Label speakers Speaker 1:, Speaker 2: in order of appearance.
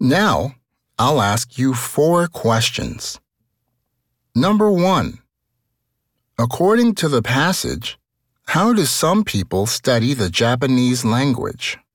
Speaker 1: Now, I'll ask you 4 questions. Number 1. According to the passage, how do some people study the Japanese language?